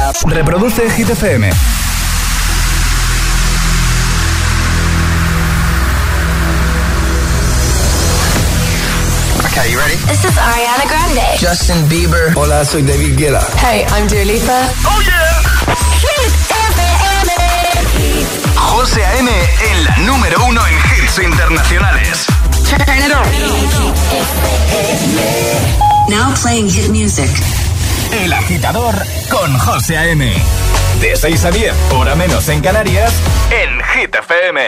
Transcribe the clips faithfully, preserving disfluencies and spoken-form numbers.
Reproduce Hit F M. Okay, you ready? This is Ariana Grande. Justin Bieber. Hola, soy David Guetta. Hey, I'm Dua Lipa. Oh yeah. Hit F M. José A M en la número uno en hits internacionales. Turn it on. Now playing hit music. El Agitador con José A M. De seis a diez, hora menos en Canarias, en Hit F M.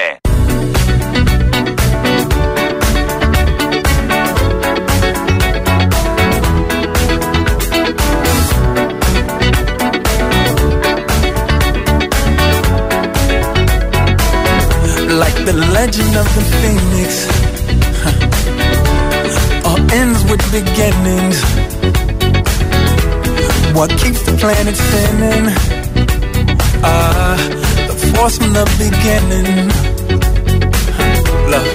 Like the legend of the phoenix, huh. All ends with beginnings. What keeps the planet spinning? Ah, uh, the force from the beginning. Huh. Love.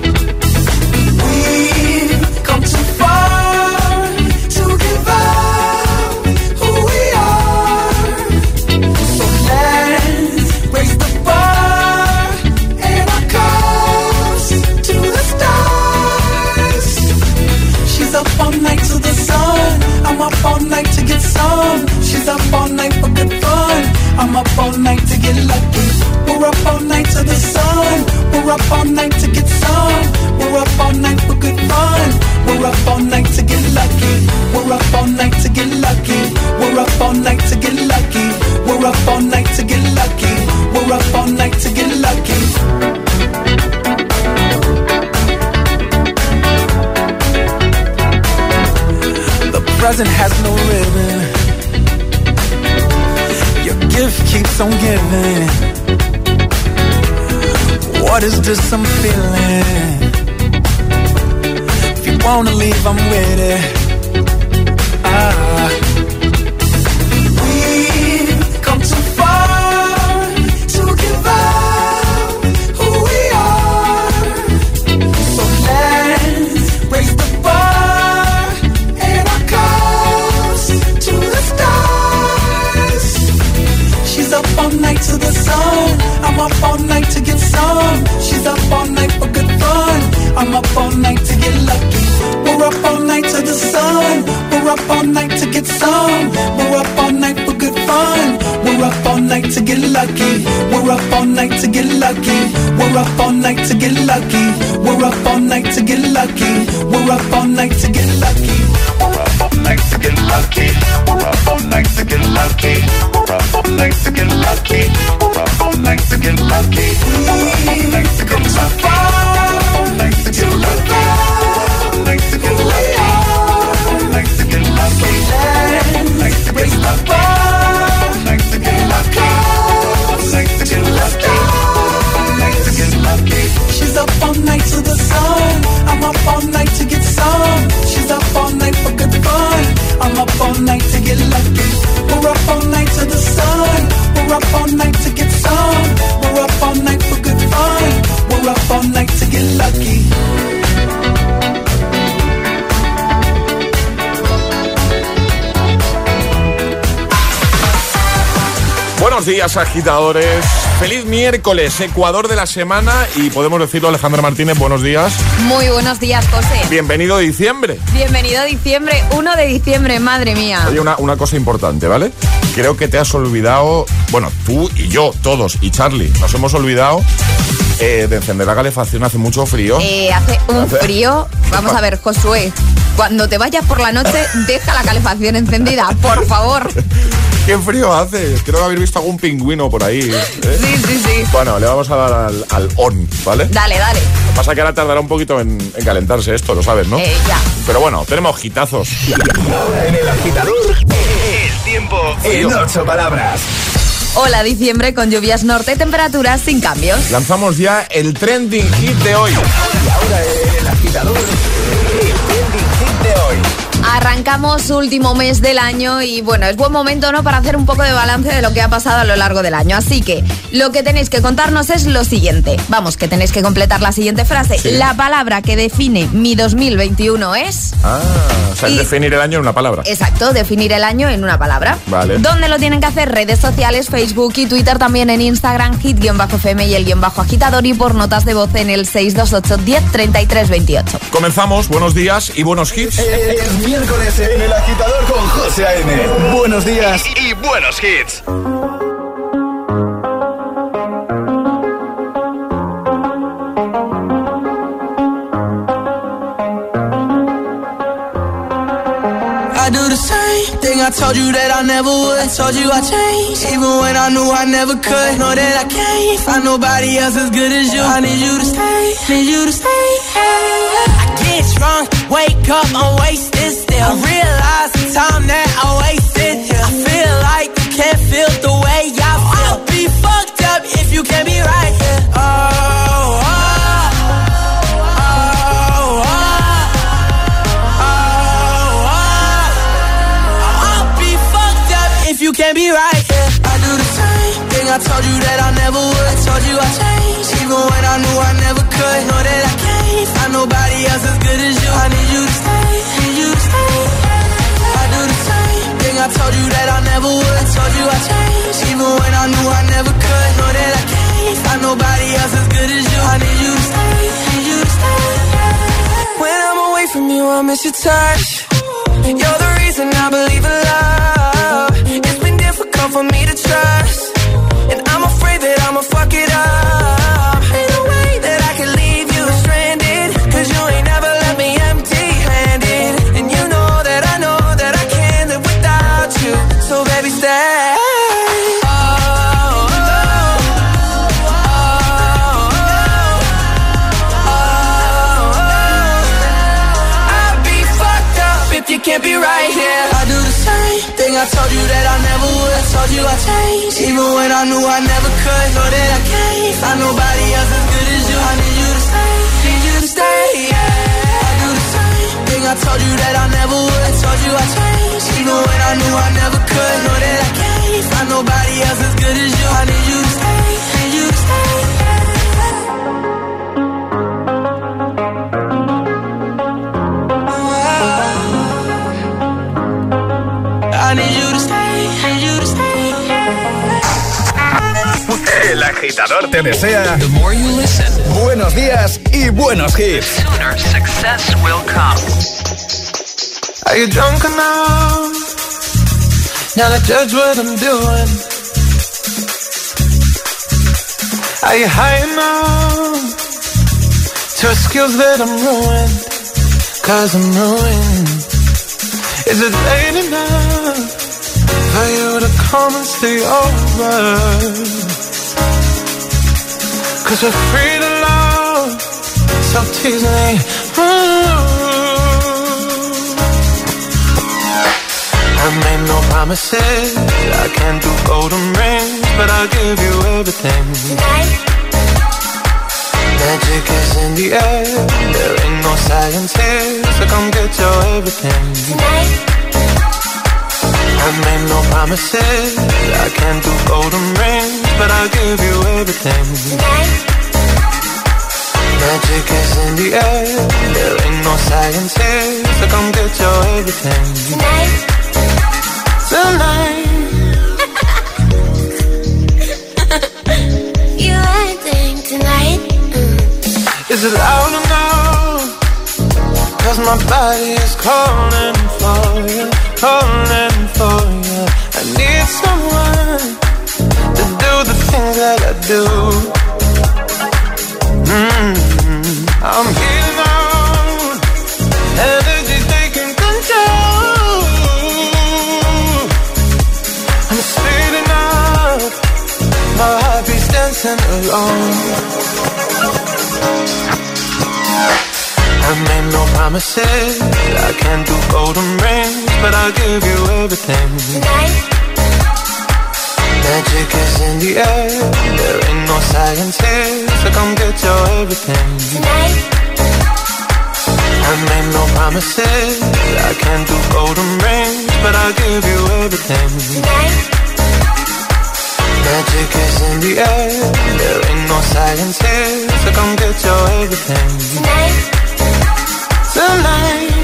We've come too far to give up who we are. So let's raise the bar and our cups to the stars. She's up all night to the sun. I'm up all night to get some. She's up all night for good fun. I'm up all night to get lucky. We're up all night to the sun. We're up all night to get some. We're up all night for good fun. We're up all night to get lucky. We're up all night to get lucky. We're up all night to get lucky. We're up all night to get lucky. We're up all night to get lucky. Present has no ribbon. Your gift keeps on giving. What is this I'm feeling? If you wanna leave, I'm with it. Ah, we've come too far to give up who we are. So let's raise the bar. Up all night to the sun. I'm up all night to get some. She's up all night for good fun. I'm up all night to get lucky. We're up all night to the sun. We're up all night to get some. We're up all night for good fun. We're up all night to get lucky. We're up all night to get lucky. We're up all night to get lucky. We're up all night to get lucky. We're up all night to get lucky. We're up all night to get lucky. We're up all night to get lucky. We're up all night to get lucky. We're up all night to get lucky. We're up all night to get lucky. We're all night to get lucky. We're all night to get lucky. We're all night to get lucky. We're all night to get lucky. We're all night to get lucky. We're all night to get lucky. We're all night to get lucky. She's up all night to the sun. I'm up all night to get some. She's up all night for good fun. I'm up all night to get lucky. We're up all night to the sun. We're up all night to get some. We're up all night for good fun. We're up all night to get lucky. Buenos días, agitadores. Feliz miércoles, Ecuador de la semana. Y podemos decirlo, Alejandra Martínez, buenos días. Muy buenos días, José. Bienvenido a diciembre. Bienvenido a diciembre, uno de diciembre, madre mía. Oye, una, una cosa importante, ¿vale? Creo que te has olvidado, bueno, tú y yo, todos, y Charlie, nos hemos olvidado eh, de encender la calefacción. Hace mucho frío. Eh, hace un ¿Hace? frío. Vamos a ver, Josué, cuando te vayas por la noche, deja la calefacción encendida, por favor. ¡Qué frío hace! Creo que habéis visto algún pingüino por ahí, ¿eh? Sí, sí, sí. Bueno, le vamos a dar al, al on, ¿vale? Dale, dale. Lo que pasa es que ahora tardará un poquito en, en calentarse esto, lo sabes, ¿no? Eh, ya. Pero bueno, tenemos gitazos. En el agitador, el tiempo en ocho palabras. Hola, diciembre con lluvias norte, temperaturas sin cambios. Lanzamos ya el trending hit de hoy. Y ahora el agitador, el trending hit de hoy. Arrancamos último mes del año y bueno, es buen momento, ¿no?, para hacer un poco de balance de lo que ha pasado a lo largo del año. Así que lo que tenéis que contarnos es lo siguiente. Vamos, que tenéis que completar la siguiente frase. Sí. La palabra que define mi dos mil veintiuno es... Ah, o sea, y... definir el año en una palabra. Exacto, definir el año en una palabra. Vale. ¿Dónde lo tienen que hacer? Redes sociales, Facebook y Twitter, también en Instagram, hit-F M y el guión bajo agitador, y por notas de voz en el seis dos ocho, diez, treinta y tres, veintiocho. Comenzamos, buenos días y buenos hits. Es miércoles en El Agitador con José A M. Buenos días y, y buenos hits. I do the same thing I told you that I never would. I told you I changed, even when I knew I never could. Know that I can't find nobody else as good as you. I need you to stay, need you to stay. I get drunk, wake up, I'm wasted still. I realize the time that I wasted here. I feel like you can't feel the way I feel. I'll be fucked up if you can't be right here. Oh, oh. You can't be right, yeah. I do the same thing I told you that I never would. I told you I changed, even when I knew I never could. Know that I can't find nobody else as good as you. I need you to stay, need you to stay. I do the same thing I told you that I never would. I told you I changed, even when I knew I never could. Know that I can't find nobody else as good as you. I need you to stay, need you to stay. When I'm away from you, I miss your touch. You're the reason I believe in love. It's been difficult for me to trust, and I'm afraid that I'ma fuck it up. Ain't no way that I can leave you stranded, cause you ain't never left me empty-handed. And you know that I know that I can't live without you. So baby, stay. Oh, oh, oh, oh, oh, oh. I'd be fucked up if you can't be right here. I do the same thing I told you that I never would. I told you I changed, even when I knew I never could. Know that I can't find nobody else as good as you. I need you to stay, need you to stay, yeah. I do the same thing I told you that I never would. I told you I changed, even when I knew I never could. Know that I can't find nobody else as good as you. I need you to stay, need you to stay, I need you to stay, need you to stay. El Agitador te desea The more you listen, buenos días y buenos hits. sooner success will come. Are you drunk enough now to judge what I'm doing? Are you high enough to excuse that I'm ruined? Cause I'm ruined. Is it late enough for you to come and stay over? Cause we're free to love, so tease me. Ooh. I made no promises, I can't do golden rings, but I'll give you everything. Tonight. Magic is in the air, there ain't no science here, so come get your everything. Tonight. I made no promises, I can't do golden rings, but I'll give you everything. Tonight. Magic is in the air, there ain't no science here, so come get your everything. Tonight. Tonight. You acting tonight. Mm. Is it loud enough? Cause my body is calling for you, calling for you. I need someone to do the things that I do. Mm-hmm. I'm here now, energy taking control. I'm speeding up, my heart beats dancing alone. I made no promises, I can't do golden rings, but I'll give you everything. Tonight. Magic is in the air, there ain't no science here, so come get your everything. Tonight. I made no promises, I can't do golden rings, but I'll give you everything. Tonight. Magic is in the air, there ain't no science here, so come get your everything. Tonight. Tonight.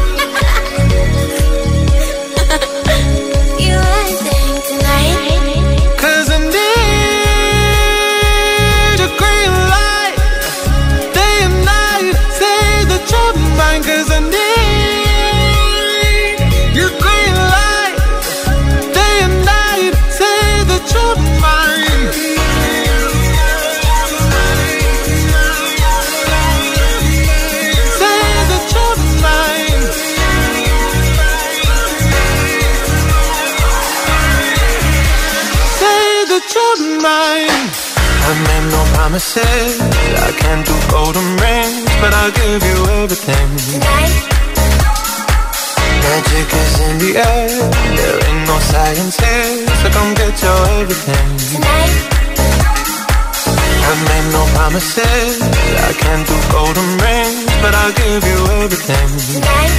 You everything tonight. Cause I need a green light, day and night, say that you're mine. Cause I need your green light, day and night, say that you're mine. Say that you're mine. Say that you're mine. I made no promises, I can't do golden rings, but I'll give you everything. Tonight. Magic is in the air, there ain't no science here, so come get your everything. Tonight. I made no promises, I can't do golden rings, but I'll give you everything. Tonight.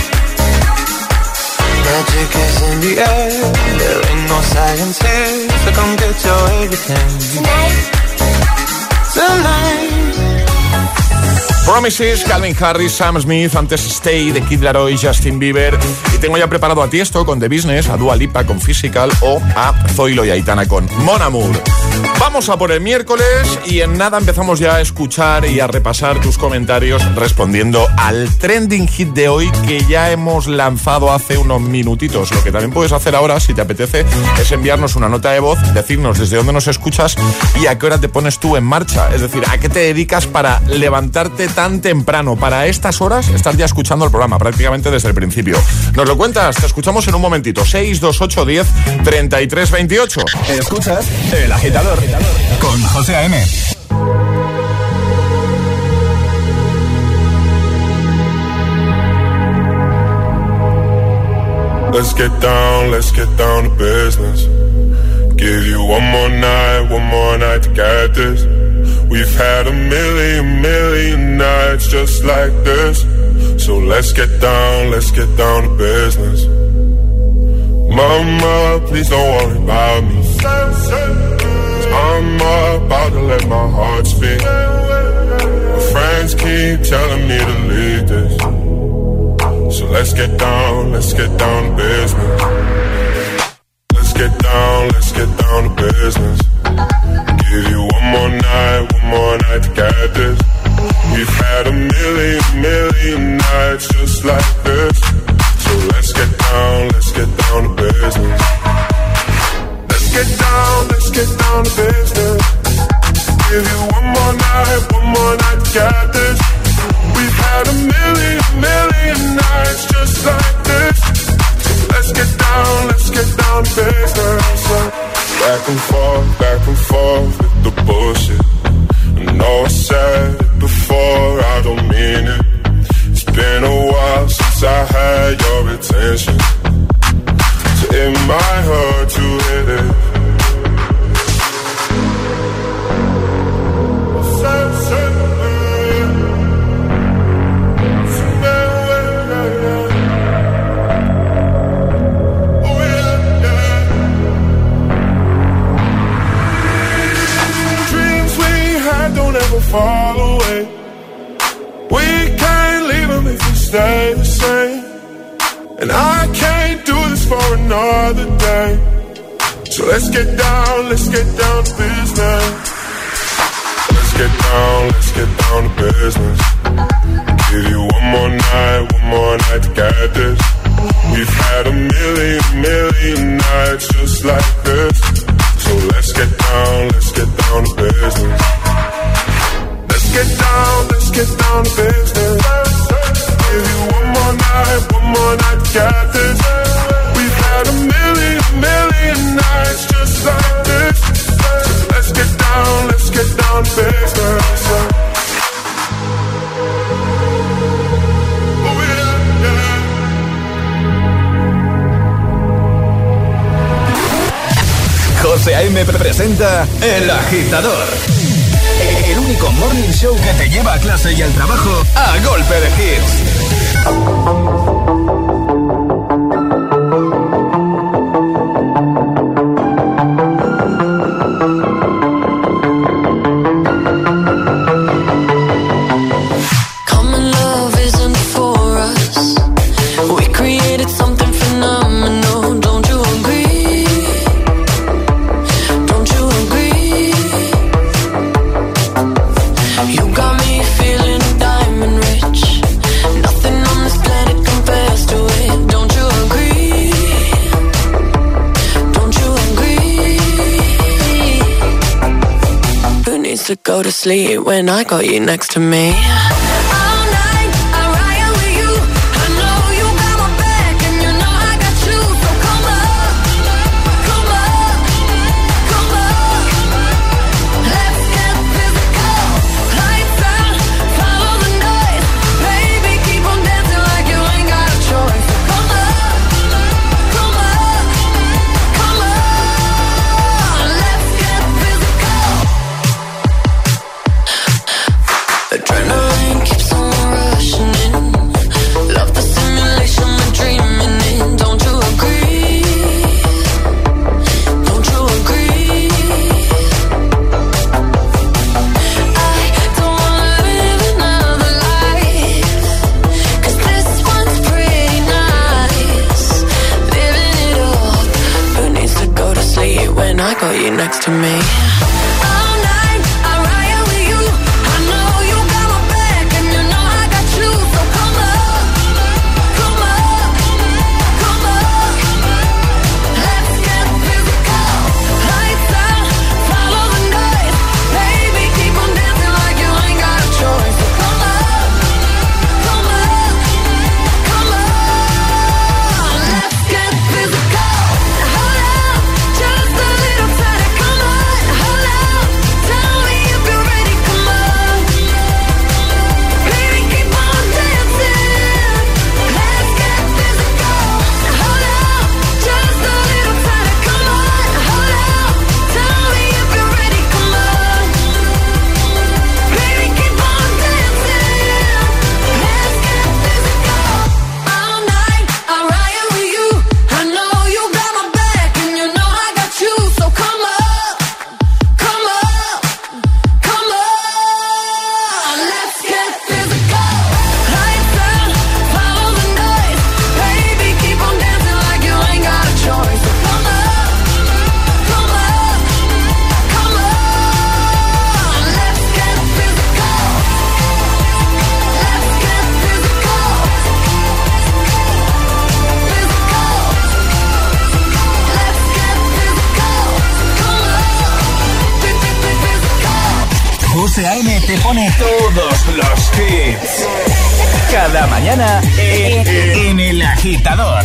Magic is in the air, there ain't no science here, so come get your everything. Tonight. Tonight. Promises, Calvin Harris, Sam Smith, antes Stay, de Kid Laroi, Justin Bieber. Y tengo ya preparado a Tiesto con The Business, a Dua Lipa con Physical o a Zoilo y Aitana con Mon Amour. Vamos a por el miércoles y en nada empezamos ya a escuchar y a repasar tus comentarios respondiendo al trending hit de hoy que ya hemos lanzado hace unos minutitos. Lo que también puedes hacer ahora, si te apetece, es enviarnos una nota de voz, decirnos desde dónde nos escuchas y a qué hora te pones tú en marcha. Es decir, a qué te dedicas para levantarte tan temprano, para estas horas estar ya escuchando el programa prácticamente desde el principio. Nos lo cuentas, te escuchamos en un momentito. Seis dos ocho diez treinta y tres veintiocho. Escuchas El Agitador con José A M. Let's get down, let's get down to business. Give you one more night, one more night to get this. We've had a million, million nights just like this. So let's get down, let's get down to business. Mama, please don't worry about me. I'm about to let my heart speak. My friends keep telling me to leave this. So let's get down, let's get down to business. Let's get down, let's get down to business. Give you one more night, one more night to get this. We've had a million, million nights just like this. So let's get down, let's get down to business. Let's get down, let's get down to business. Give you one more night, one more night to get this. We've had a million, million nights just like this. So let's get down, let's get down to business. Back and forth, back and forth with the bullshit. I know I said it before, I don't mean it. It's been a while since I had your attention, so it might hurt to hit it. Fall away. We can't leave them if we stay the same. And I can't do this for another day. So let's get down, let's get down to business. Let's get down, let's get down to business. Give you one more night, one more night to get this. We've had a million, million nights just like this. So let's get down, let's get down to business. Let's get down, let's get down to business. Give you one more night, one more night to get this. We've had a million, million nights just like this. So let's get down, let's get down to business. Oh yeah, yeah. José A M presenta El Agitador, el único morning show que te lleva a clase y al trabajo a golpe de hits. Go to sleep when I got you next to me. Adrenaline keeps on rushing in. Love the simulation we're dreaming in. Don't you agree? Don't you agree? I don't wanna live another life, 'cause this one's pretty nice. Living it up. Who needs to go to sleep when I got you next to me? José A.M. te pone todos los hits. Cada mañana en, en El Agitador.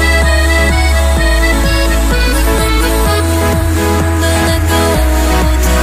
Let go.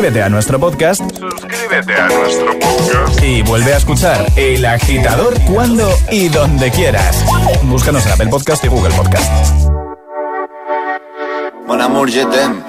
suscríbete a nuestro podcast. Suscríbete a nuestro podcast. Y vuelve a escuchar El Agitador cuando y donde quieras. Búscanos en Apple Podcast y Google Podcast. Mon amour, je t'aime.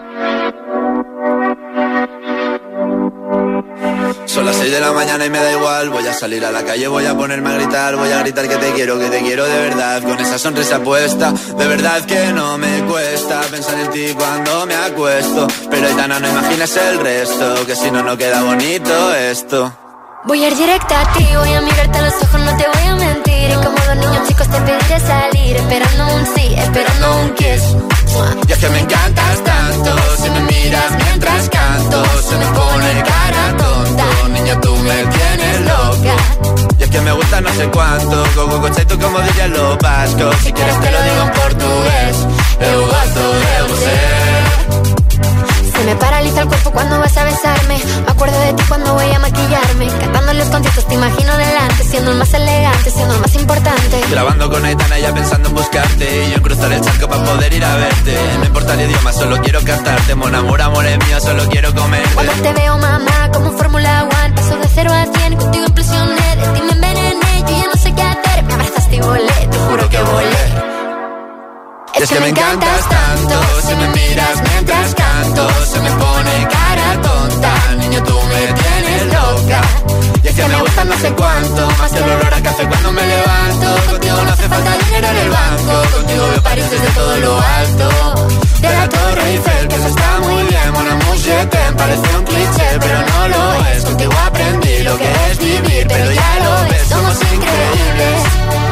Son las seis de la mañana y me da igual. Voy a salir a la calle, voy a ponerme a gritar. Voy a gritar que te quiero, que te quiero de verdad. Con esa sonrisa puesta, de verdad que no me cuesta pensar en ti cuando me acuesto. Pero Aitana, no imagines el resto, que si no, no queda bonito esto. Voy a ir directa a ti, voy a mirarte a los ojos, no te voy a mentir. Y como dos niños chicos te pediré salir, esperando un sí, esperando un kiss. Y es que me encantas tanto, si me miras mientras canto, se me pone cara tonta. Niña, tú me tienes loca. Y es que me gusta no sé cuánto, Gogo coche tú como diría lo vasco. Si quieres te lo digo en portugués, eu gosto de você. Se me paraliza el cuerpo cuando vas a besarme. Me acuerdo de ti cuando voy a maquillarme. Cantando en los conciertos te imagino delante, siendo el más elegante, siendo el más importante. Grabando con Aitana ya pensando en buscarte, y yo en cruzar el charco para poder ir a verte. No importa el idioma, solo quiero cantarte. Mon amor, amor es mío, solo quiero comer. Cuando te veo, mamá, como Fórmula One, paso de cero a cien, contigo implosioné. De ti me envenené, yo ya no sé qué hacer. Me abrazaste y volé, te juro que volé. Es que me encantas tanto, si me miras mientras canto, se me pone cara tonta. Niño, tú me tienes loca. Y es que me gusta no sé cuánto, más que el olor a café cuando me levanto. Contigo no hace falta dinero en el banco, contigo veo París desde todo lo alto. De la Torre Eiffel, que eso está muy bien. Mon amour, je t'aime, parece un cliché, pero no lo es. Contigo aprendí lo que es vivir, pero ya lo ves, somos increíbles.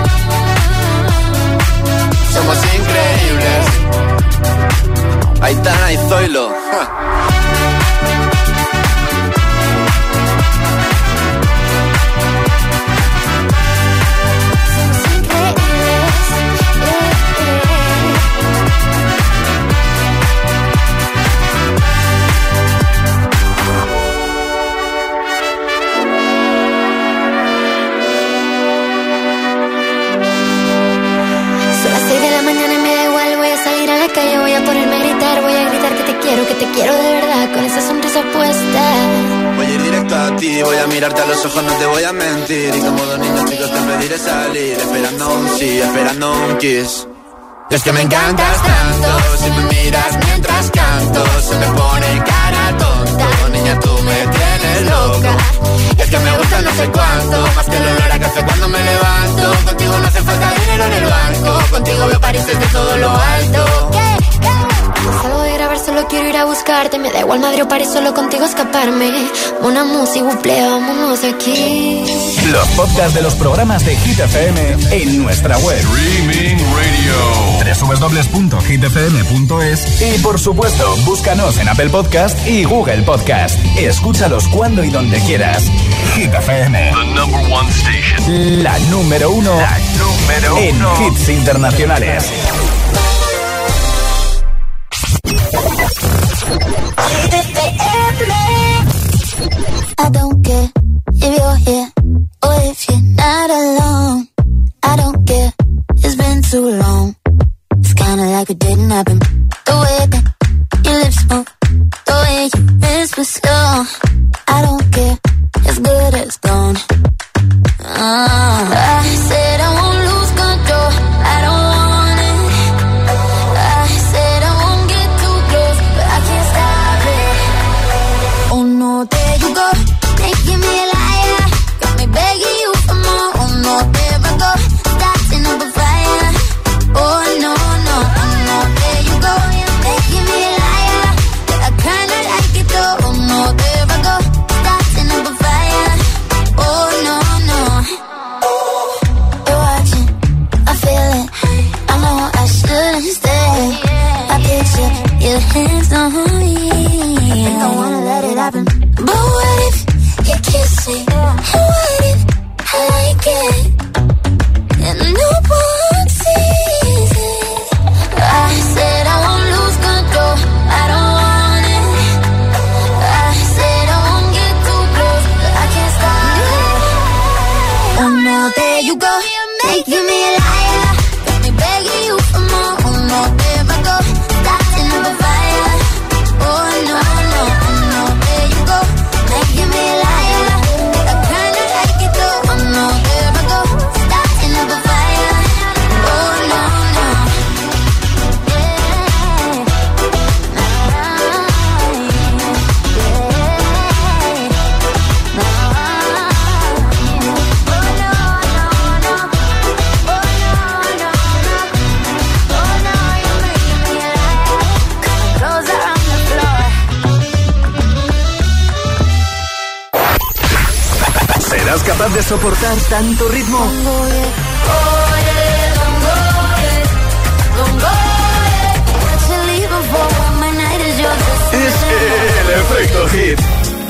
Somos increíbles. Aitana y Zoilo. Ja. Que te quiero de verdad, con esa sonrisa puesta. Voy a ir directo a ti, voy a mirarte a los ojos, no te voy a mentir. Y como dos niños chicos te pediré salir, esperando un sí, esperando un kiss. Y es que me encantas tanto, si me miras mientras canto, se me pone cara tonta. Niña, tú me tienes loca. Y es que me gusta no sé cuánto, más que el olor a café cuando me levanto. Contigo no hace falta dinero en el banco, contigo veo París desde todo lo alto. Salgo de grabar, solo quiero ir a buscarte. Me da igual Madrid o París, solo contigo escaparme. Una música, buple, vámonos de aquí. Los podcasts de los programas de Hit F M en nuestra web. Streaming Radio. doble u doble u doble u punto hit f m punto es. Y por supuesto, búscanos en Apple Podcast y Google Podcast. Escúchalos cuando y donde quieras. Hit F M. The number one station. La número uno. La número en uno. hits internacionales. I don't care if you're here or if you're not alone. I don't care, it's been too long. It's kinda like it didn't happen. The way that your lips move, the way you whisper slow. I don't care, it's good as gone. Uh, I said I won't lose control, I don't want it. I said I won't get too close, but I can't stop it. Oh no, there you go, making me a liar. Got me begging you for more. Oh no, there I go, starting up a fire. Oh no, no, oh no, there you go, making me a liar. I kinda like it though. Oh no, there I go, starting up a fire. Oh no, no. You're watching, I feel it. I know I shouldn't stay. I picture your hands on me. I wanna let it happen. But what if you're kissing? What if I like it? And no one sees it. I said I won't lose control, I don't want it. I said I won't get too close, but I can't stop it. Oh no, there you go, making me a liar. Got me begging you for more. Oh no, there I go, starting up a fire. Oh no, no, oh no. ¿Serás capaz de soportar tanto ritmo? Es el efecto hit.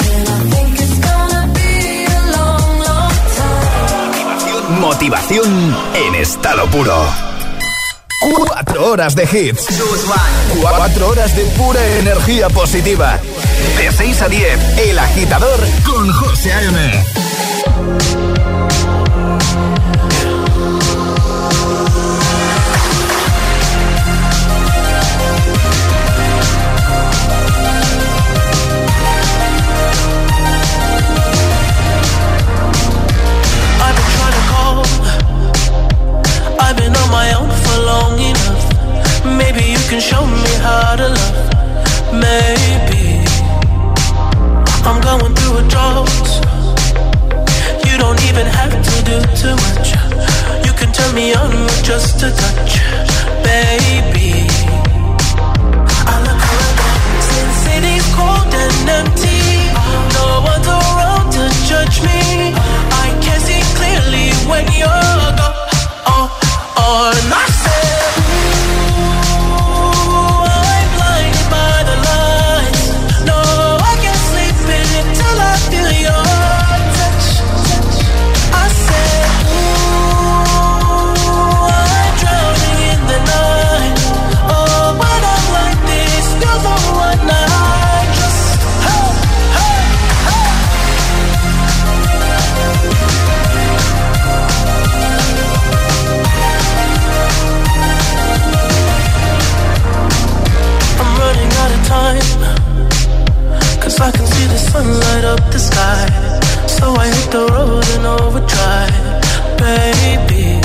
Motivación en estado puro. Cuatro horas de hits. Cuatro horas de pura energía positiva. De seis a diez, El Agitador con José A M. I've been on my own for long enough. Maybe you can show me how to love. Maybe I'm going through a drought. You don't even have to do too much. You can turn me on with just a touch, baby. I look around, since city's cold and empty. No one's around to judge me. I can see clearly when you're gone. Oh, oh, and I said, ooh, I'm blinded by the lights. No, I can't sleep until I feel your touch. I said, ooh, I'm drowning in the night. Oh, when I'm like this, you're the one I just, hey, hey, hey. Time, cause I can see the sun light up the sky. So I hit the road in overdrive, baby.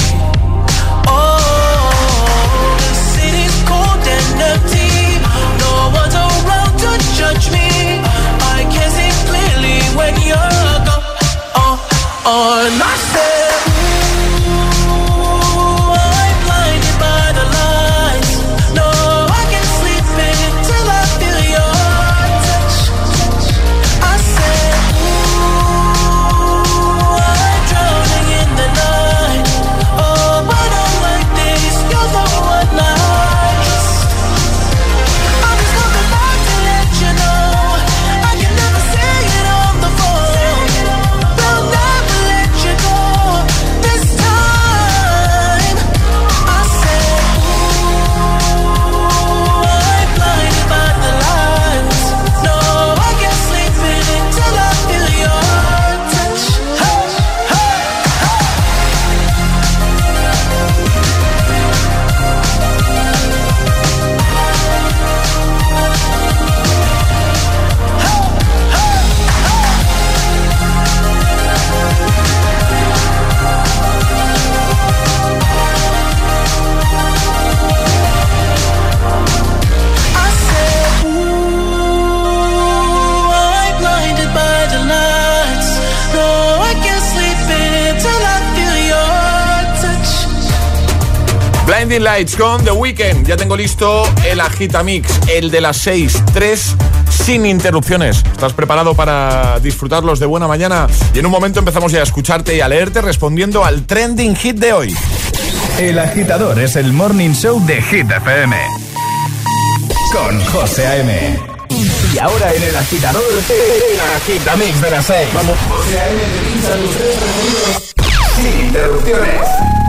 Oh, the city's cold and empty. No one's around to judge me. I can see clearly when you're gone. Oh, oh, and I said, ooh, I'm blinded by the lights. No, I can't sleep until I feel your touch. I said, ooh, I'm drowning in the night. Oh, when I'm like this, you're the one I just. I'm just coming back to let you know I can never say it on the phone. They'll never let you go this time. I said, ooh, I'm blinded by the lights. No, I can't sleep until I feel your touch. Hey, hey, I said, ooh, I'm blinded by the lights. No, I can't sleep until I feel your touch. Blinding Lights con The Weeknd. Ya tengo listo el Agitamix, el de las seis, tres sin interrupciones. ¿Estás preparado para disfrutarlos de buena mañana? Y en un momento empezamos ya a escucharte y a leerte respondiendo al trending hit de hoy. El Agitador es el morning show de Hit F M. Con José A M. Y ahora en El Agitador, el Agitamix de las seis. Vamos. José A M te pincha tus tres sonidos sin interrupciones.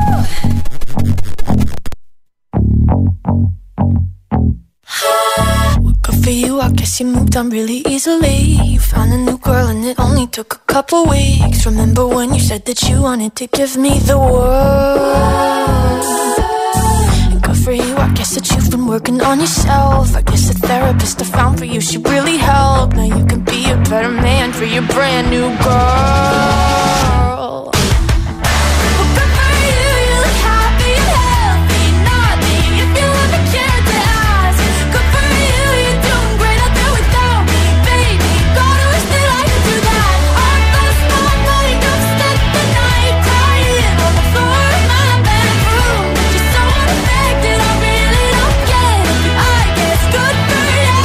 Good for you, I guess you moved on really easily. You found a new girl and it only took a couple weeks. Remember when you said that you wanted to give me the world? Good for you, I guess that you've been working on yourself. I guess the therapist I found for you should really help. Now you can be a better man for your brand new girl. Well, good for you, you look happy and healthy. Not me, if you ever cared to ask. Good for you, you're doing great out there without me, baby. God, I wish that I could do that. I lost my mind, I'm spent the night crying on the floor of my bedroom. Just so unaffected, I really don't get it. I guess good for you.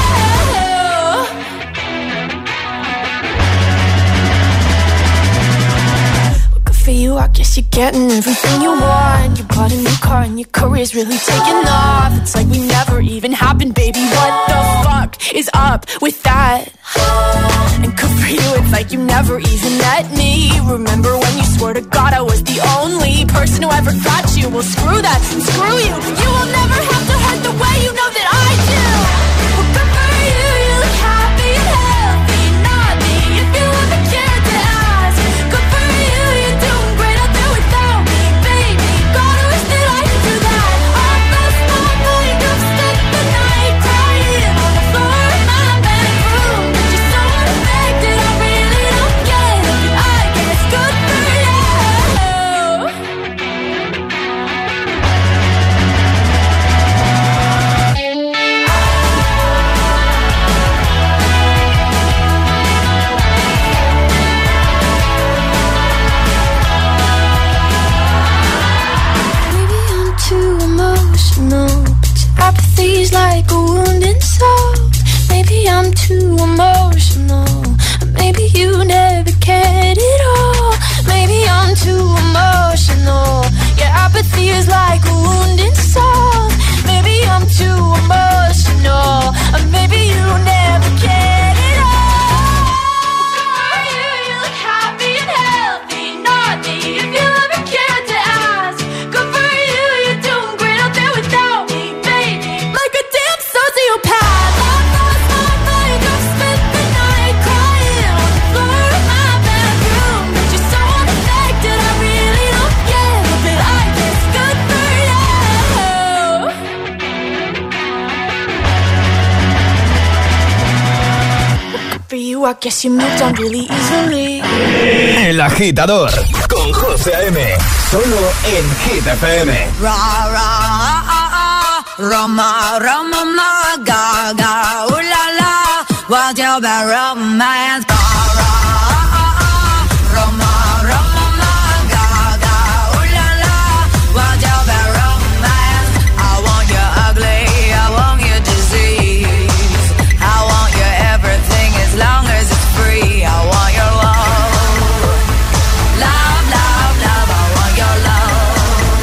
guess you're getting everything you want. You bought a new car and your career's really taking off. It's like we never even happened, baby. What the fuck is up with that? And good for you, it's like you never even met me. Remember when you swore to God I was the only person who ever got you? Well, screw that, screw you. You will never have to hurt the way you know that I do. Well, good for you, you look happy and healthy. Not me, if you ever cared to ask. Good for you, you're doing great out there without me, baby. God, I wish that I could do that. I lost my mind, I've spent the night crying on the floor of my bedroom. But you're so unaffected, I really don't get it. But I guess good for you. Apathy's like a wounded soul. Maybe I'm too emotional. Maybe you never cared at all. Maybe I'm too emotional. Yeah, apathy is like a wounded soul. Maybe I'm too emotional. Maybe you never cared at all. You, you look happy and healthy. Not me, if you ever cared to ask. Good for you, you're doing great out there without me. Like a damn sociopath. I lost my mind, I've spent the night crying on the floor of my bedroom. But you're so unaffected, I really don't get it. But I guess good for you. Good for you, I guess you moved on really easily. El Agitador con José A M. Solo en Hit F M. Ra, ra, ah, ah, ah. Roma, Roma, ma, ga, ga, ooh la la. What's your bad romance? Ra, ra, ah, ah, ah. Roma, Roma, ma, ga, ga, ooh la la. What's your bad romance? I want you ugly, I want you disease. I want you everything as long as it's free. I want your love, love, love, love. I want your love.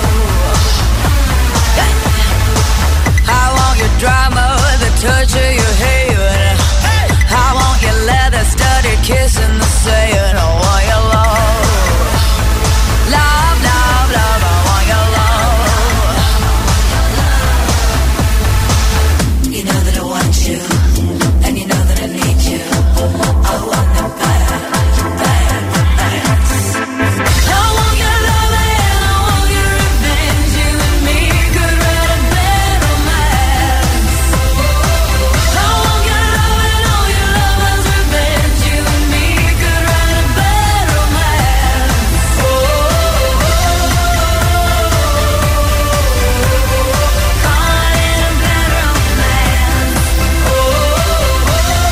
I want your drama, the touch of your hair. I want your leather studded kiss in the sand. I want your love, love, love, love. I want your love. You know that I want you, and you know that I need you. I want the bad, bad, bad. I want your love and I want your revenge. You and me could write a bad romance. I want your love and all your lovers' revenge. You and me could write a bad romance. Oh, oh, caught in a bad romance. Oh, caught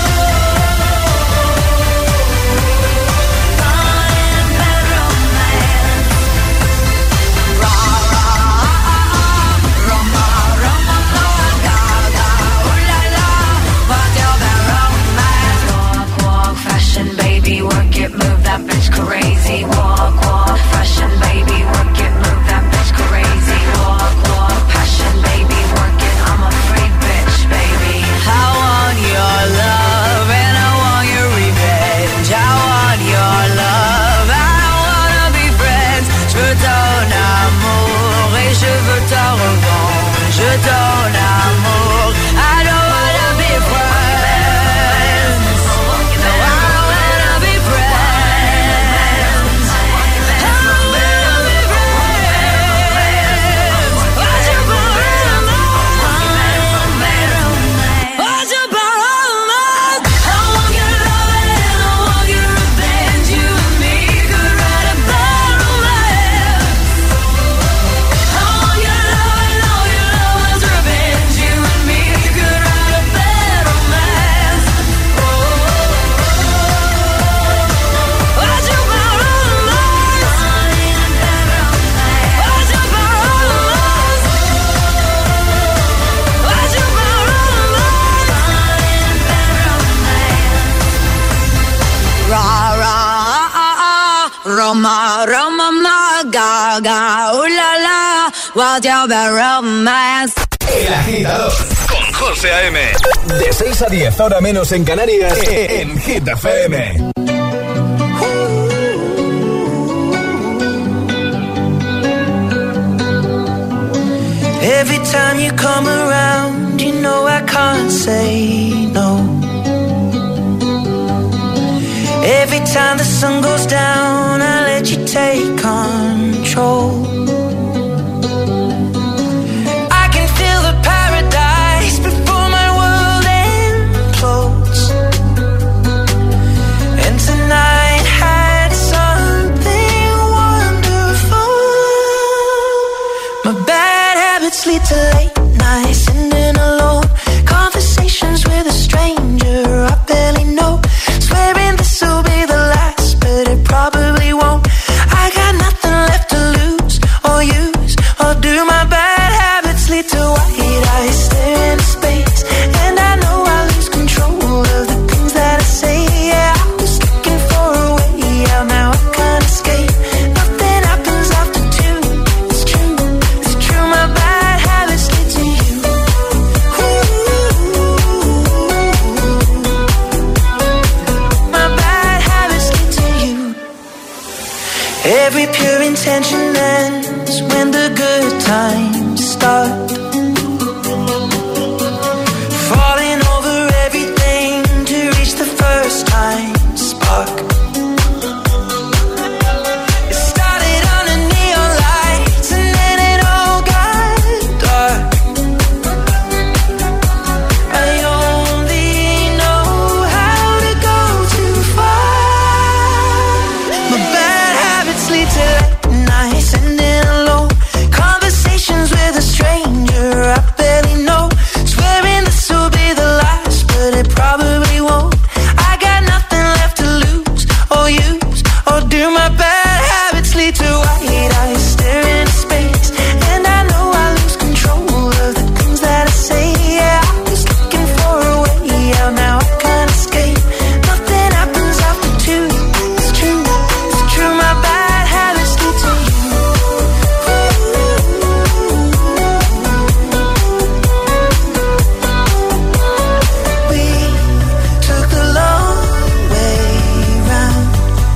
in a bad romance. Ra, ra, ah, ah, ah. Roma, Roma, ma, ga, ga, ooh la la. What's your bad romance? Walk, walk, fashion, baby, work it, move that bitch crazy. Walk, walk, fashion, baby, work it, move that bitch crazy. Walk, walk, passion, baby, work it. I'm a free bitch, baby. I want your love and I want your revenge. I want your love, I wanna be friends. Je veux ton amour et je veux ta revanche. Je ton amour, I don't wanna be friends. No, I don't wanna be friends. I don't wanna be friends. What's your problem? What's your problem? I want your love and I want your revenge. You and me could write a bad romance. I want your love and all your lovers' revenge. Roma, Roma, ma, Gaga, ooh la la, what's your bad romance? El Agitador con José A M. De seis a diez, ahora menos en Canarias, en Hit F M. Every time you come around, you know I can't say no. Every time the sun goes down, I let you take control. I can feel the paradise before my world implodes. And tonight had something wonderful. My bad habits lead to late nights, ending alone. Conversations with a stranger I barely know. Swearing this will be the last, but it probably won't. I got nothing left to lose or use or do. My bad habits lead to white eyes stare into space, and I know I lose control of the things that I say. Yeah, I was looking for a way out, now I can't escape. Nothing happens after two. It's true, it's true. My bad habits lead to you. My bad habits lead to you. Every pure intention ends when the good times start. Falling over everything to reach the first time spark. It started under neon lights and then it all got dark. I only know how to go too far. My bad habits lead to late nights, ending alone. Conversations with a stranger I barely know. Swearing this will be the last, but it probably won't. I got nothing left to lose or use or do. My bad habits lead to white eyes stare into space, and I know I lose control of the things that I say. Yeah, I was looking for a way out, now I can't escape. Nothing happens after two. It's true, it's true. My bad habits lead to you. We took the long way round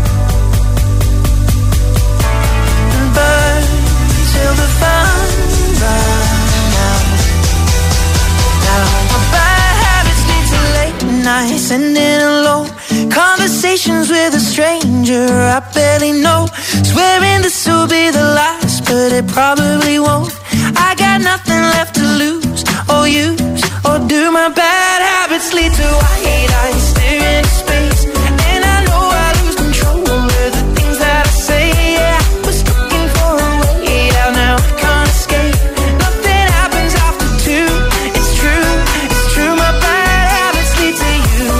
and burned till the fun ran out. Now my bad habits lead to late nights, ending alone. Conversations with a stranger I barely know. Swearing this will be the last, but it probably won't. I got nothing left to lose or use or do. My bad habits lead to white eyes stare into space, and I know I lose control of the things that I say. Yeah, I was looking for a way out, now I can't escape. Nothing happens after two. It's true, it's true. My bad habits lead to you.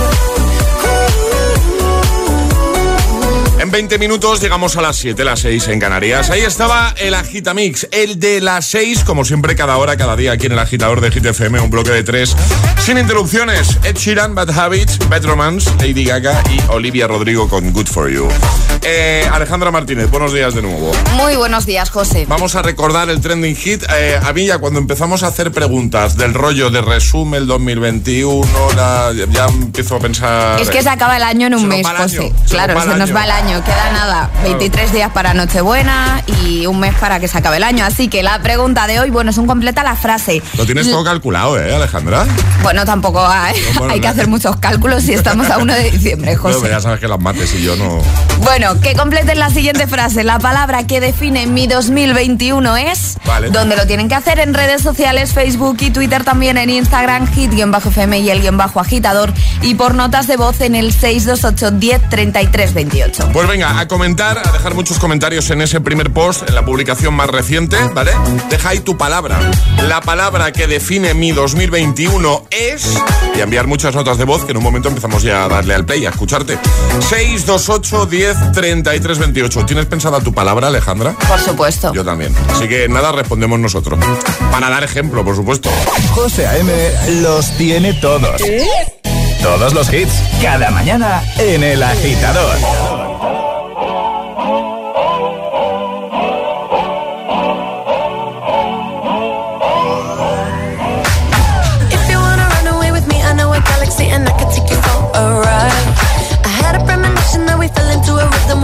En veinte minutos llegamos a las siete, las seis en Canarias. Ahí estaba el Agitamix, el de las seis, como siempre, cada hora, cada día aquí en el agitador de Hit F M, un bloque de tres, sin interrupciones. Ed Sheeran, Bad Habits, Bad Romance, Lady Gaga y Olivia Rodrigo con Good For You. Eh, Alejandra Martínez, buenos días de nuevo. Muy buenos días, José. Vamos a recordar el trending hit. Eh, a mí ya cuando empezamos a hacer preguntas del rollo de resume el dos mil veintiuno, la, ya empiezo a pensar... Es que se acaba el año en un mes, José. Claro, se nos va el año. Queda nada, veintitrés días para Nochebuena y un mes para que se acabe el año. Así que la pregunta de hoy, bueno, es un completa la frase. Lo tienes todo calculado, ¿eh, Alejandra? Bueno, tampoco hay, no, bueno, hay que hacer muchos cálculos si estamos a uno de diciembre, José. No, ya sabes que las mates y yo no... Bueno, que completen la siguiente frase. La palabra que define mi dos mil veintiuno es... Vale. Donde lo tienen que hacer en redes sociales, Facebook y Twitter, también en Instagram, hit-F M y el guión bajo agitador. Y por notas de voz en el seis dos ocho, diez, treinta y tres, veintiocho. Pues venga, a comentar, a dejar muchos comentarios en ese primer post, en la publicación más reciente, ¿vale? Deja ahí tu palabra. La palabra que define mi dos mil veintiuno es... Y a enviar muchas notas de voz, que en un momento empezamos ya a darle al play, a escucharte. seis dos ocho, diez, treinta y tres, veintiocho. ¿Tienes pensada tu palabra, Alejandra? Por supuesto. Yo también. Así que nada, respondemos nosotros. Para dar ejemplo, por supuesto. José A M los tiene todos. ¿Eh? Todos los hits, cada mañana en El Agitador.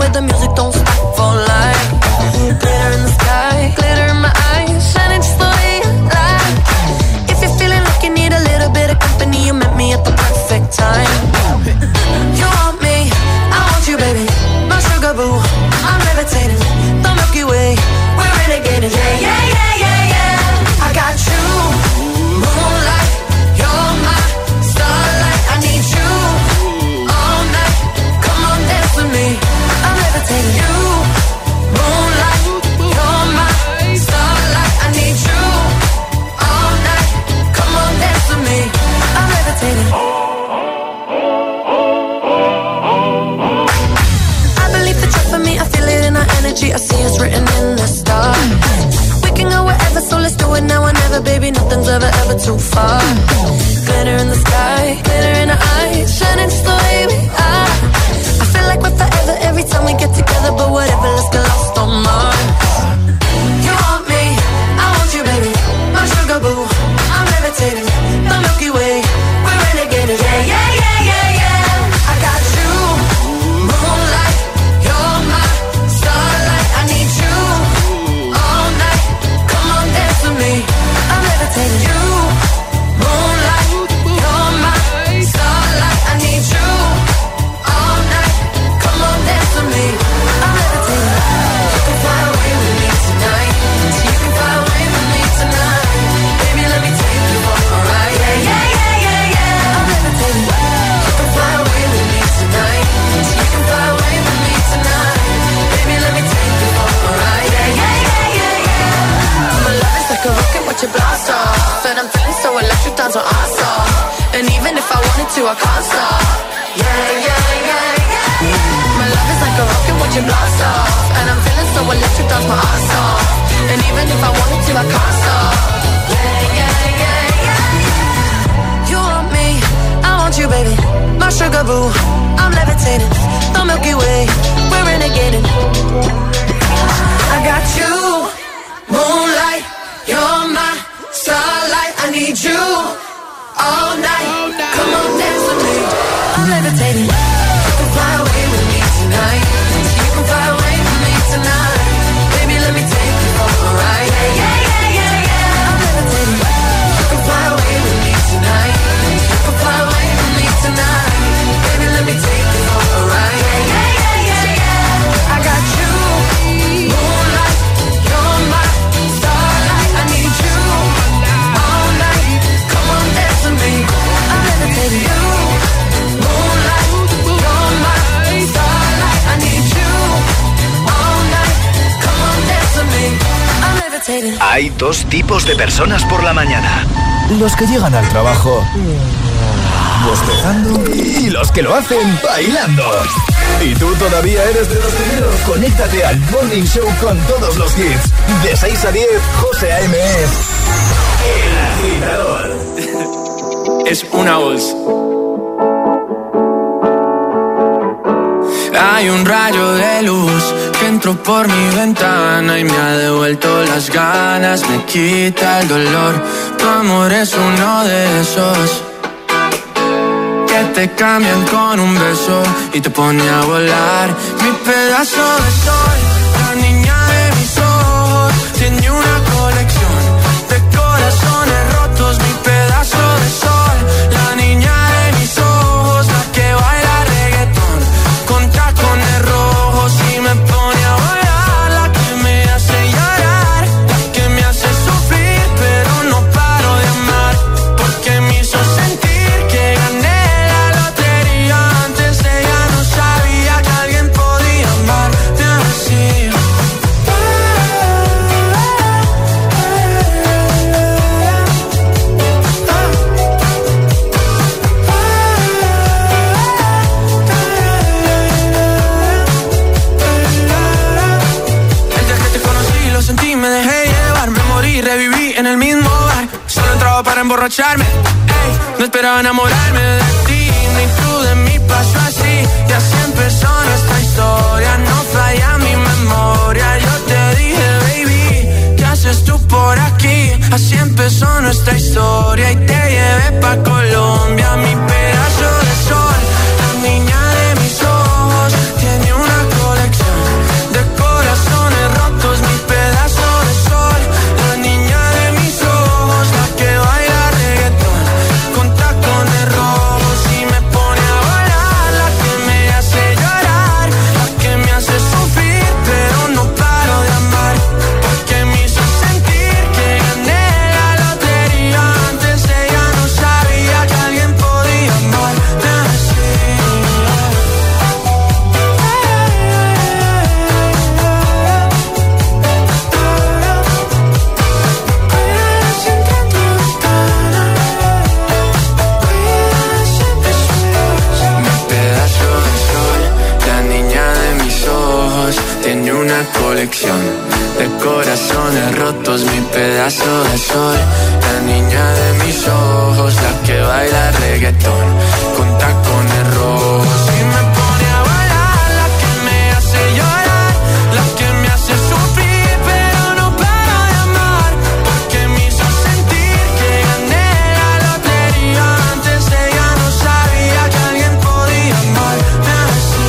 but the music don't stop for life. Glitter in the sky, glitter in my eyes, shining just the way you like. If you're feeling like you need a little bit of company, you met me at the perfect time. You want me, I want you, baby. My sugar boo, I'm levitating. The Milky Way, we're renegading. Yeah, yeah, yeah, yeah, yeah. I got you, moonlight. You're my starlight. I need you all night. Come on, dance with me. I'm levitating. You, moonlight. You're my starlight. I need you all night. Come on, dance with me. I'm levitating. I believe the trust for me. I feel it in our energy. I see it's written in the stars. We can go wherever, so let's do it now or never, baby. Nothing's ever, ever too far. Glitter in the sky, glitter in our eyes, shining just the way we are. I feel like we're forever every time we get together, but whatever, let's get lost on Mars. You want me, I want you, baby. My sugar boo, I'm levitating. The Milky Way, we're renegading. Yeah, yeah, yeah, yeah, yeah. I got you, moonlight. You're my starlight. I need you all night. Come on, dance with me. I'm levitating. You, moonlight. You're my starlight. I need you all night. Come on, dance with me. I'm levitating. You can fly away with me tonight. You can fly away with me tonight. Baby, let me take you for a ride. Yeah, yeah, yeah, yeah, yeah. I'm levitating. You can fly away with me tonight. You can fly away with me tonight. Baby, let me take you for a ride. Yeah, yeah, yeah, yeah, yeah. My love is like a rocket, watch it blast off. And I'm feeling so electric, down to awesome. And even if I wanted to, I can't stop. Yeah, yeah, yeah, yeah. My love is like a rocket, watch it blast off. And I'm feeling so electric, down my ass off. And even if I wanted to, I can't stop. Yeah, yeah, yeah, yeah. You want me, I want you, baby. My sugar boo, I'm levitating. The Milky Way, we're renegading. I got you, moonlight. You're my starlight. I need you all night. Come on, dance with me. I'm levitating. You can fly away with me tonight. You can fly away with me tonight. Baby, let me take you for a ride. Yeah, yeah, yeah, yeah, yeah. I'm levitating. You can fly away with me tonight. You can fly away with me tonight. Baby, let me take you for a ride. Yeah, yeah, yeah, yeah, yeah. I got you, moonlight. You're my starlight. I need you all night. Come on, dance with me. I'm levitating. You, moonlight. You're my starlight. I need you all night. Come on, dance with me. I'm levitating. Hay dos tipos de personas por la mañana. Los que llegan al trabajo bostezando y los que lo hacen bailando. ¿Y tú todavía eres de los primeros? Conéctate al Morning Show con todos los hits. De seis a diez, José A M es El Agitador. Es una voz. Hay un rayo de luz que entró por mi ventana y me ha devuelto las ganas, me quita el dolor. Tu amor es uno de esos que te cambian con un beso y te pone a volar. Mi pedazo de sol, la niña de mis ojos, tiene una colección de corazones rotos. Mi pedazo de sol, la niña de mis ojos, la que baila reggaetón con tacones rojos y me pone a volar. La que me hace llorar, la que me hace sufrir, pero no paro de amar, porque me hizo sentir que gané la lotería. Antes ella no sabía que alguien podía amarte así. El día que te conocí lo sentí, me dejé llevar, me morí, reviví en el mismo bar. Solo entraba para emborracharme, ey, no esperaba enamorarme de ti, ni tú de mí pasó así. Y así empezó nuestra historia, no falla mi memoria. Yo te dije, baby, ¿qué haces tú por aquí? Así empezó nuestra historia y te llevé pa' Colombia. Mi pedazo de sol, la niña de mis ojos, tiene una colección una colección de corazones rotos, mi pedazo de sol. La niña de mis ojos, la que baila reggaetón con tacones rojos. Y me pone a bailar, la que me hace llorar, la que me hace sufrir, pero no paro de amar, porque me hizo sentir que gané la lotería. Antes ella no sabía que alguien podía amarme así.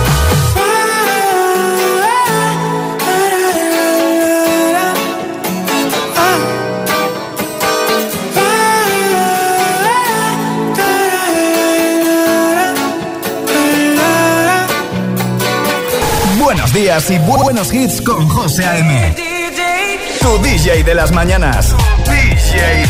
Buenos días y bu- buenos hits con José A M. Tu D J de las mañanas. D J.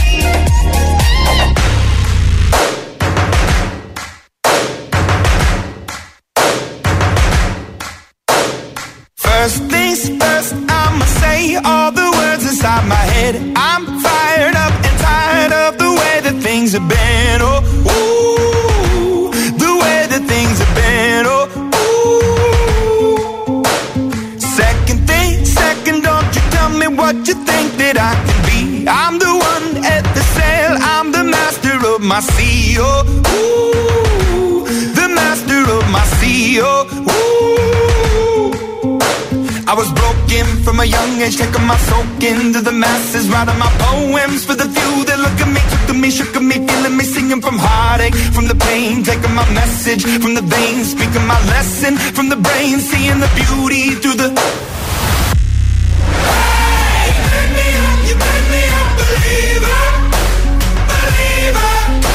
First things first, I'ma say all the words inside my head. I'm fired up and tired of the way that things have been. Oh, ooh, the way that things have been. Oh, ooh. Second thing, second, don't you tell me what you think that I can be. I'm the one at the sail, I'm the master of my sea. Oh, ooh, the master of my sea. Oh, ooh. I was broken from a young age, taking my soak into the masses, writing my poems for the few that look at me, took to me, shook at me, feeling me, singing from heartache, from the pain, taking my message from the veins, speaking my lesson from the brain, seeing the beauty through the... Hey, turn me up, you turn me up, believer, believer.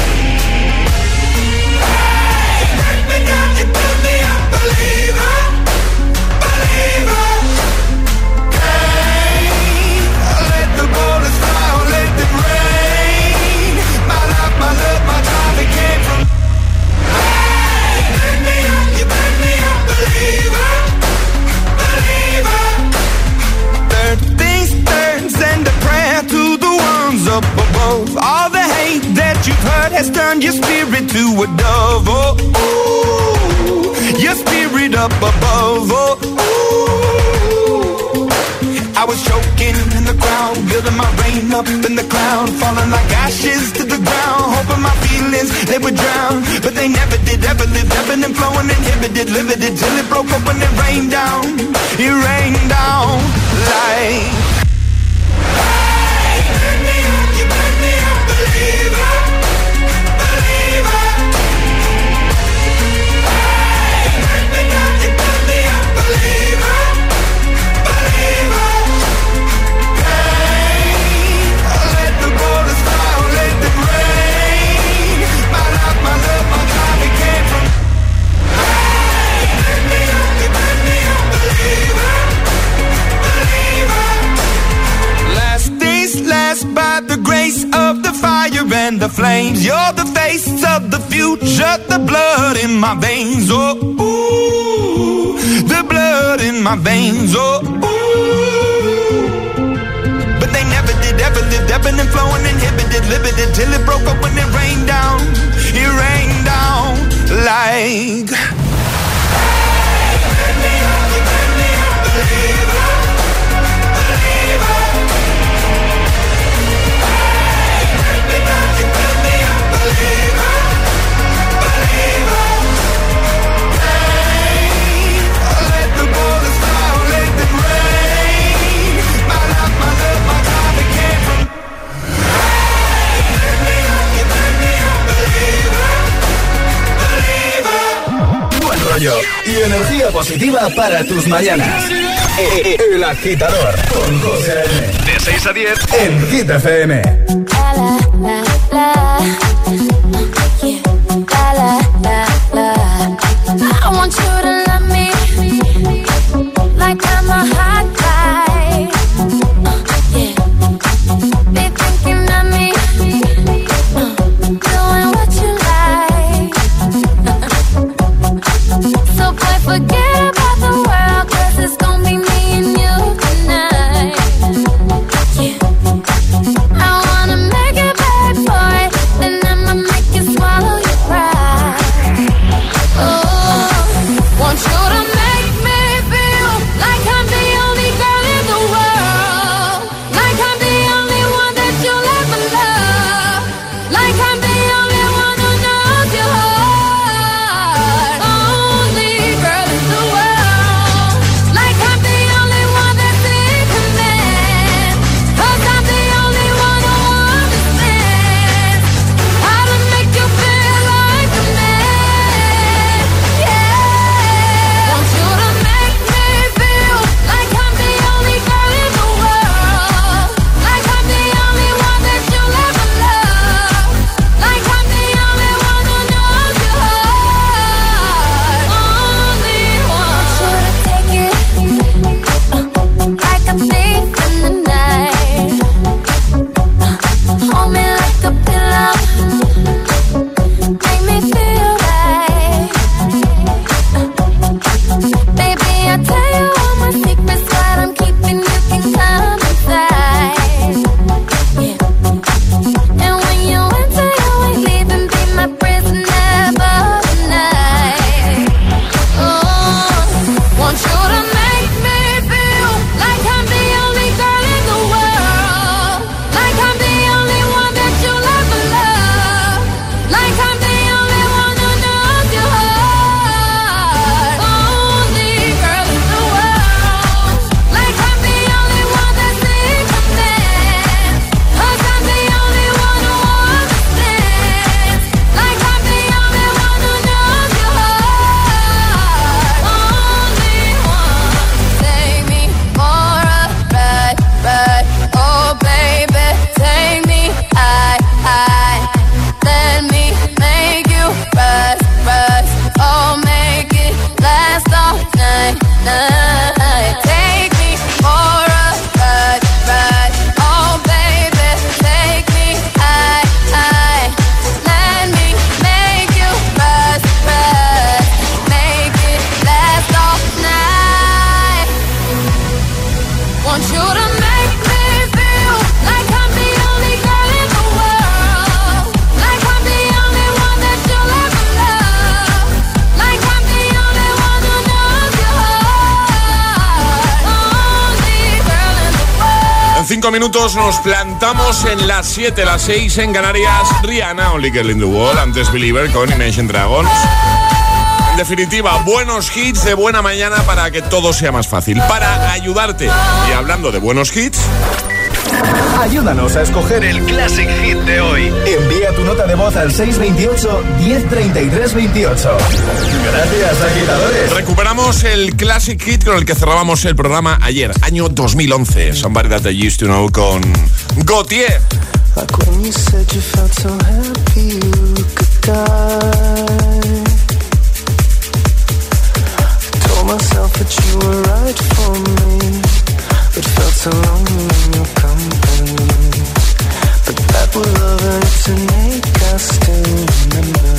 Hey, turn me down, you turn me up, believer, believer. Up above, all the hate that you've heard has turned your spirit to a dove. Oh, ooh, your spirit up above. Oh, ooh. I was choking in the crowd, building my rain up in the cloud, falling like ashes to the ground, hoping my feelings they would drown, but they never did. Ever lived, ebbing and flowing, inhibited, limited, till it broke up when it rained down. It rained down like. Believer, believer. Hey, turn me down, you turn me up, believer, believer. Hey, let the borders fall, let them rain. My life, my love, my time, it came from. Hey, turn me up, you turn me up, believer, believer. Last days last by the grace of the fire and the flames. You're the face of the future, the blood in my veins. Oh, ooh, the blood in my veins. Oh, ooh. But they never did, ever lived, ebbing and flowing, inhibited, limited, till it broke up when it rained down. It rained down like. Hey, turn me up, you turn me up, believer, believer. Believer, believer. Hey, let the borders fall, let them rain. My life, my love, my time, it came from. Hey, turn me up, you turn me up, believer, believer. Buen rollo y energía positiva para tus mañanas. El Agitador con José A M. De seis a diez en Hit F M. I want you to love me like I'm a hot guy. Uh, yeah. Be thinking of me, uh, doing what you like. So boy, forget about the world, 'cause it's gonna be me and you tonight. Yeah. I wanna make it back for it, then I'ma En cinco minutos nos plantamos en las siete, las seis en Canarias. Rihanna, Only Girl in the World, antes Believer con Imagine Dragons. En definitiva, buenos hits de buena mañana para que todo sea más fácil, para ayudarte. Y hablando de buenos hits, ayúdanos a escoger el Classic Hit de hoy. Envía tu nota de voz al seis dos ocho, diez treinta y tres veintiocho. Gracias, agitadores. recuperamos el Classic Hit con el que cerrábamos el programa ayer, año dos mil once. Somebody That I Used to Know con Gautier. Like when you said you felt so happy you could die. Told myself that you were right for me, but felt so lonely in your company. But that was love and it's an ache I still remember.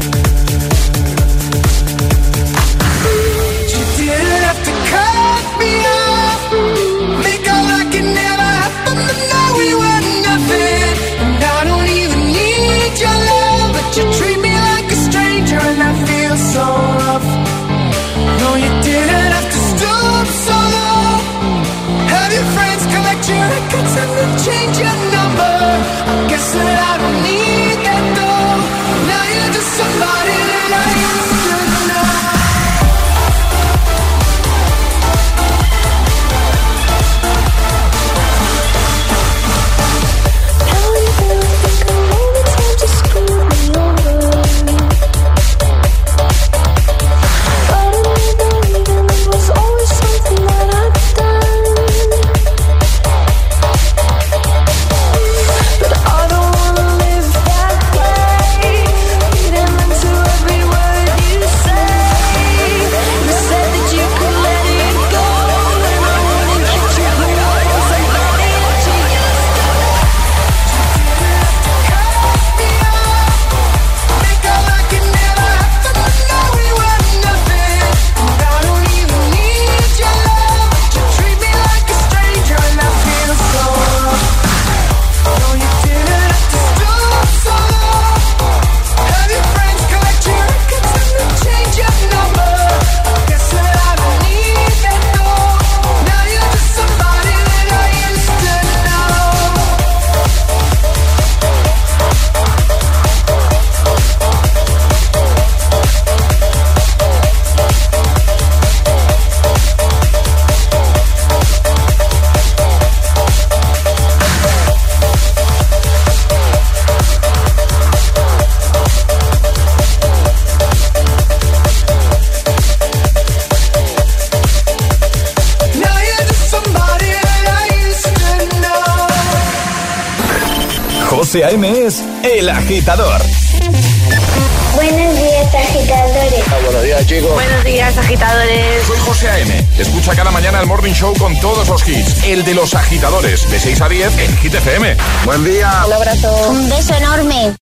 You didn't have to cut me off, make all like it never happened, but now we were nothing. And I don't even need your love, but you treat me like a stranger and I feel so rough. No, you didn't have to stoop so low, have your friends collect your records and then change your number. I guess that I don't need that though. Now you're just somebody that I used to know. José A M es El Agitador. Buenos días, agitadores. Ah, buenos días, chicos. Buenos días, agitadores. Soy José A M. Escucha cada mañana el Morning Show con todos los hits. El de los agitadores, de seis a diez en Hit F M. Buen día. Un abrazo. Un beso enorme.